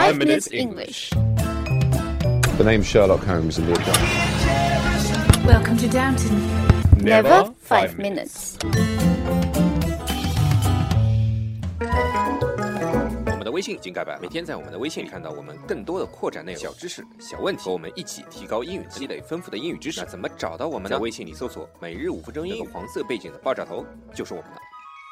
5 Minutes English. The name's Sherlock Holmes in the account. Welcome to Downton. Never 5 minutes. 我们的微信已经改版，每天在我们的微信里看到我们更多的扩展内容、小知识、小问题，和我们一起提高英语，积累丰富的英语知识。那怎么找到我们呢？在微信里搜索每日5分钟英语，黄色背景的爆炸头就是我们的。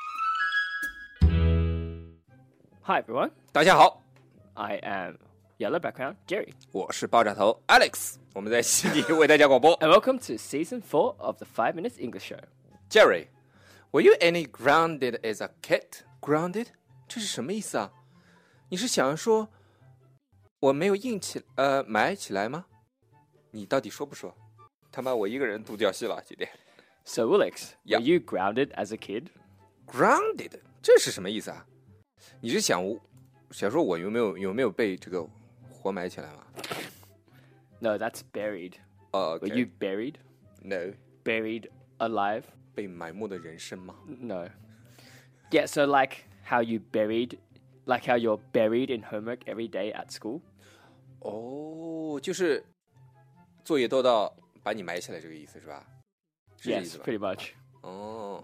Hi everyone, 大家好， I am Yellow Background Jerry, 我是爆炸头 Alex， 我们在悉尼为大家广播。 and welcome to Season 4 of the 5 Minutes English Show. Jerry, were you any grounded as a kid? Grounded? 这是什么意思啊？你是想说我没有埋起来吗？你到底说不说？他妈我一个人独角戏了今天。 So Alex, Yeah. were you grounded as a kid? Grounded 这是什么意思啊？你是想说我有没有被这个活埋起来吗？ No, that's buried. Okay. Were you buried? No. Buried alive? 被埋没的人生吗？ No. Yeah, so like how you're buried in homework every day at school? 哦，就是作业多到把你埋起来这个意思是吧？是这意 Yes, 思吧？ pretty much. 哦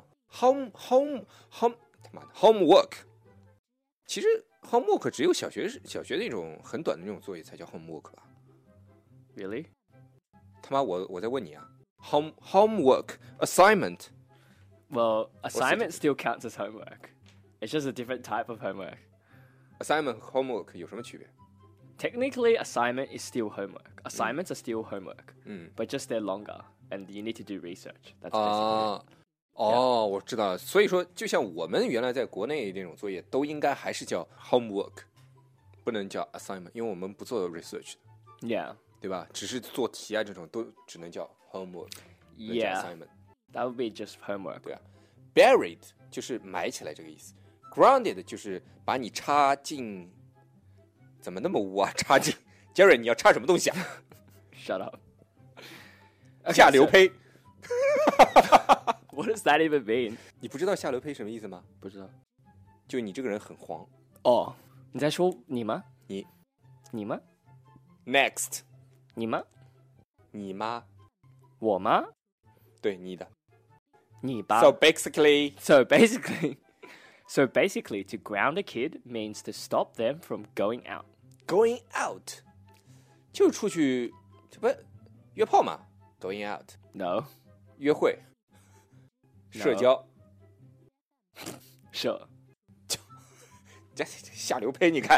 他妈的 homework， 其实 homework 只有小学那种很短的那种作业才叫 homework 吧？ Really? 他妈我在问你啊 ，homework assignment Well, assignment still counts as homework. It's just a different type of homework. assignment 和 homework 有什么区别？ Technically, assignment is still homework. Assignments are still homework, 嗯 but just they're longer, and you need to do research. That's basically 啊 it. 哦，我知道了。所以说，就像我们原来在国内那种作业，都应该还是叫 homework， 不能叫 assignment， 因为我们不做 research 的， Yeah, 对吧？只是做题啊这种都只能叫 homework， 不能叫 yeah, assignment。 that would be just homework. 对啊 ，buried 就是埋起来这个意思 ，grounded 就是把你插进，怎么那么污啊？插进 ，Jerry 你要插什么东西啊？ Shut up. 下流胚， What does that even mean? 你不知道下流胚什么意思吗？ 不知道。 就你这个人很黄。 哦，你在说你吗？ 你吗？ Next， 你吗？ 你妈， 我吗？ 对你的。 你吧。 So basically, So basically, to ground a kid means to stop them from going out. going out 就出去，这不约炮嘛 ？Going out， No, 约会， No. 社交， sure. 这下流胚，你看，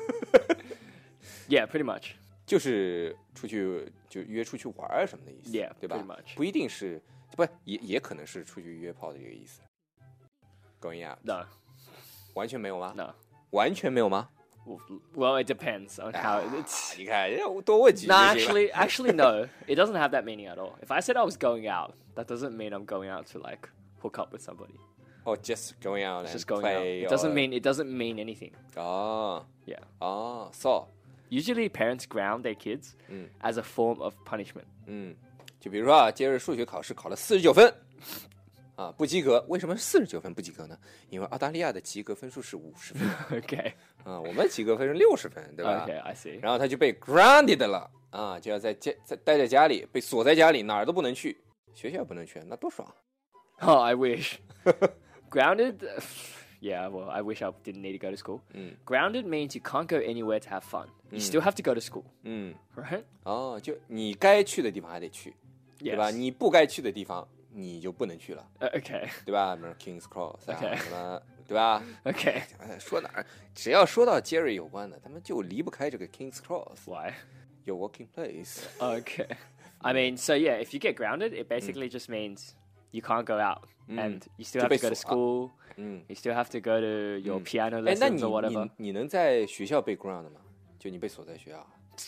Yeah, pretty much. 就是出去就约出去玩儿什么的意思 Yeah, 对吧 pretty much. 不一定是，不也可能是出去约炮的这个意思。Going out No, 完全没有吗？ no. 完全没有吗？ Well, it depends on how it's. 你看，多问几句 No, 就行了。 actually, no. It doesn't have that meaning at all. If I said I was going out, that doesn't mean I'm going out to like hook up with somebody. Oh, just going out It's and just going out. play. It doesn't mean anything. 哦 Yeah. 哦，so Usually, parents ground their kids as a form of punishment. 就比如说啊，接着数学考试考了49分，啊，不及格。为什么49分不及格呢？因为澳大利亚的及格分数是50分 Okay. 啊，我们及格分是60分，对吧 Okay, I see. 然后他就被 grounded 了啊，就要在待在家里，被锁在家里，哪儿都不能去，学校也不能去，那多爽！ Oh, I wish. Grounded? Yeah, well, I wish I didn't need to go to school. Grounded means you can't go anywhere to have fun. You still have to go to school, 嗯， right? 哦，就你该去的地方还得去，对吧？ Yes. 你不该去的地方你就不能去了， Okay. 对吧？比如 Kings Cross 啊 Okay. 什么，对吧？ Okay. 说哪儿，只要说到 Jerry 有关的，他们就离不开这个 Kings Cross， Why? your working place。 Okay. I mean, so yeah, if you get grounded, it basically just means you can't go out and you still have to go to school. You still have to go to your piano 哎，那 lessons or whatever. 你能在学校被 ground 吗？就你被锁在学校？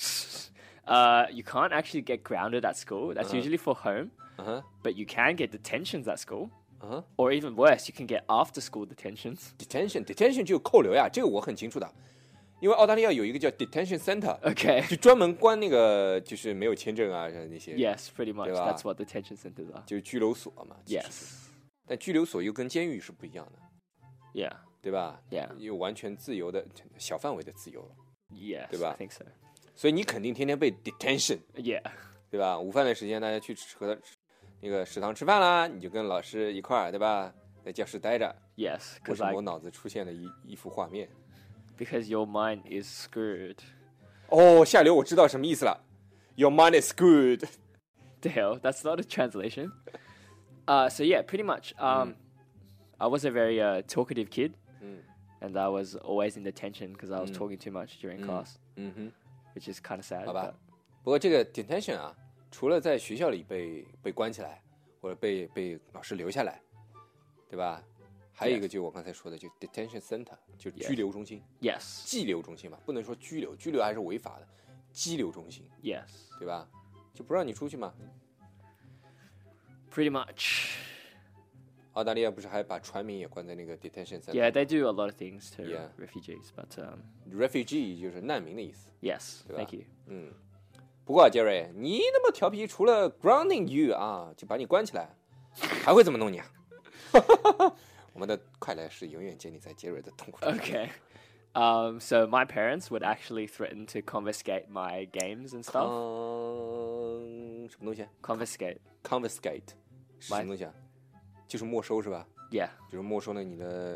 You can't actually get grounded at school. That's usually for home. 嗯哼， But you can get detentions at school. 嗯哼 Or even worse, you can get after school detentions. ，detention 就扣留呀，这个我很清楚的，因为澳大利亚有一个叫 detention center， Okay. 就专门关那个就是没有签证啊那些， Yes, pretty much. 对吧？ That's what detention centers are. 就是拘留所嘛。其实是 Yes. 但拘留所又跟监狱是不一样的， Yeah. 对吧？ Yeah. 有完全自由的小范围的自由， Yes, 对吧 I think so. 所以你肯定天天被 detention， Yeah. 对吧？午饭的时间大家去那个食堂吃饭啦，你就跟老师一块儿，对吧？在教室待着。 Yes, 为 because 什么我脑子出现了一幅画面？ because your mind is screwed. 哦，下流，我知道什么意思了。Your mind is good. The hell? That's not a translation. So yeah, pretty much. I was a very talkative kid, and I was always in detention because I was talking too much during class. Which is kind of sad. 好吧，不过这个 detention 啊，除了在学校里被关起来，或者被老师留下来，对吧？还有一个就我刚才说的，就 detention center， 就拘留中心。 Yes. 羁留中心嘛，不能说拘留，拘留还是违法的。羁留中心。 Yes. 对吧？就不让你出去嘛。 Pretty much. 澳大利亚不是还把船民也关在那个 detention center？ Yeah, they do a lot of things to Yeah. refugees, but refugee 就是难民的意思。 yes, 对吧 thank you. 不过杰瑞，你那么调皮，除了 grounding you 啊，就把你关起来，还会怎么弄你啊？我们的快乐是永远建立在杰瑞的痛苦中。 Okay. So my parents would actually threaten to confiscate my games and stuff. 什么东西 Confiscate. ？confiscate 是什么东西啊？就是没收是吧？ Yeah. 就是没收了你的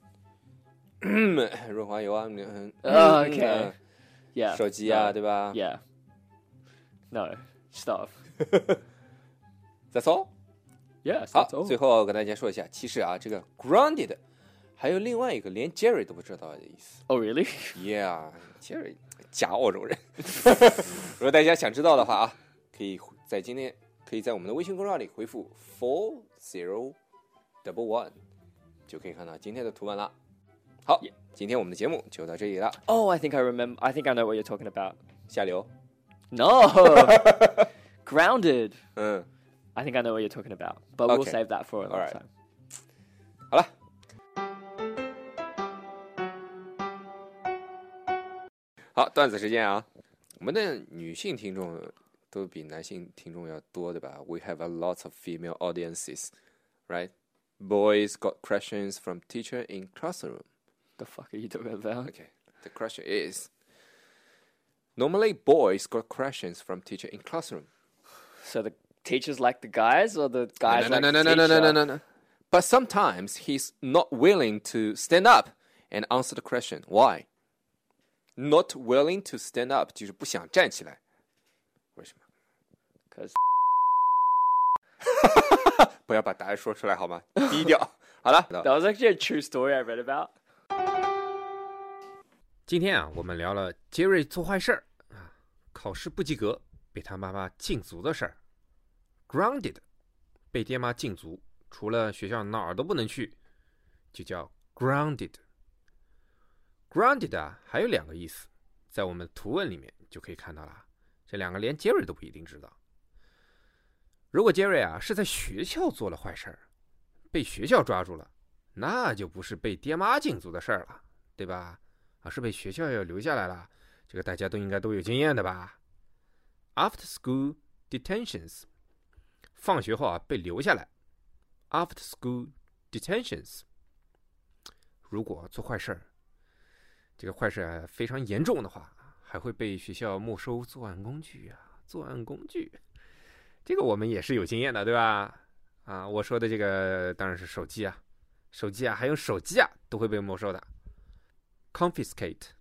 润滑油啊 Okay. Yeah. 手机啊， No. 对吧 Yeah. No. Stuff. ？That's all。 Yes, 好 that's all. 最后跟大家说一下，其实啊，这个 grounded 还有另外一个连 Jerry 都不知道的意思。 Oh, really? Yeah，Jerry 假澳洲人。如果大家想知道的话啊，可以在我们的微信公众号里回复 4011，就可以看到今天的图文了。好，今天我们的节目就到这里了。 Oh, I think I remember. I think I know what you're talking about. 下流。 No. Grounded. 嗯， I think I know what you're talking about, but we'll Okay. save that for another Alright. time. 好了。好，段子时间啊，我们的女性听众都比男性听众要多，对吧？ We have a lot of female audiences, right? Boys got questions from teacher in classroom. The fuck are you talking about? Okay, the question is, normally boys got questions from teacher in classroom. So the teachers like the guys, or the guys like the teacher? No. But sometimes he's not willing to stand up and answer the question. Why? Not willing to stand up 就是不想站起来。为什么？ Because 不要把答案说出来好吗？低调。好了， that was actually a true story I read about. 今天啊，我们聊了杰瑞做坏事儿啊，考试不及格，被他妈妈禁足的事儿。Grounded， 被爹妈禁足，除了学校哪儿都不能去，就叫 grounded。grounded 啊，还有两个意思，在我们的图文里面就可以看到了。这两个连杰瑞都不一定知道。如果杰瑞啊是在学校做了坏事儿，被学校抓住了，那就不是被爹妈禁足的事儿了，对吧？啊，是被学校要留下来了，这个大家都应该都有经验的吧 ？After school detentions， 放学后啊被留下来。After school detentions， 如果做坏事儿，这个坏事啊非常严重的话，还会被学校没收作案工具啊，作案工具，这个我们也是有经验的，对吧？啊，我说的这个当然是手机啊，手机啊，还有手机啊都会被没收的。Confiscate，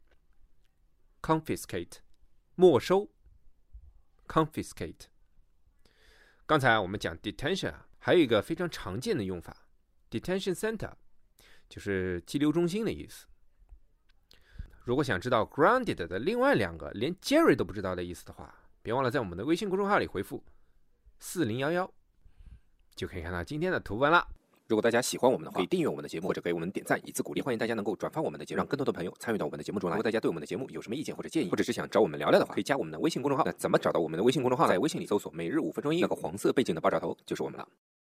没收 confiscate。 刚才我们讲 detention 啊，还有一个非常常见的用法 detention center， 就是羁留中心的意思。如果想知道 grounded 的另外两个连 Jerry 都不知道的意思的话，别忘了在我们的微信公众号里回复4011，就可以看到今天的图文了。 如果大家喜欢我们的话，可以订阅我们的节目，或者给我们点赞以资鼓励。欢迎大家能够转发我们的节目，让更多的朋友参与到我们的节目中来。如果大家对我们的节目有什么意见或者建议，或者是想找我们聊聊的话，可以加我们的微信公众号。那怎么找到我们的微信公众号？在微信里搜索每日5分钟英语，那个黄色背景的爆炸头就是我们了。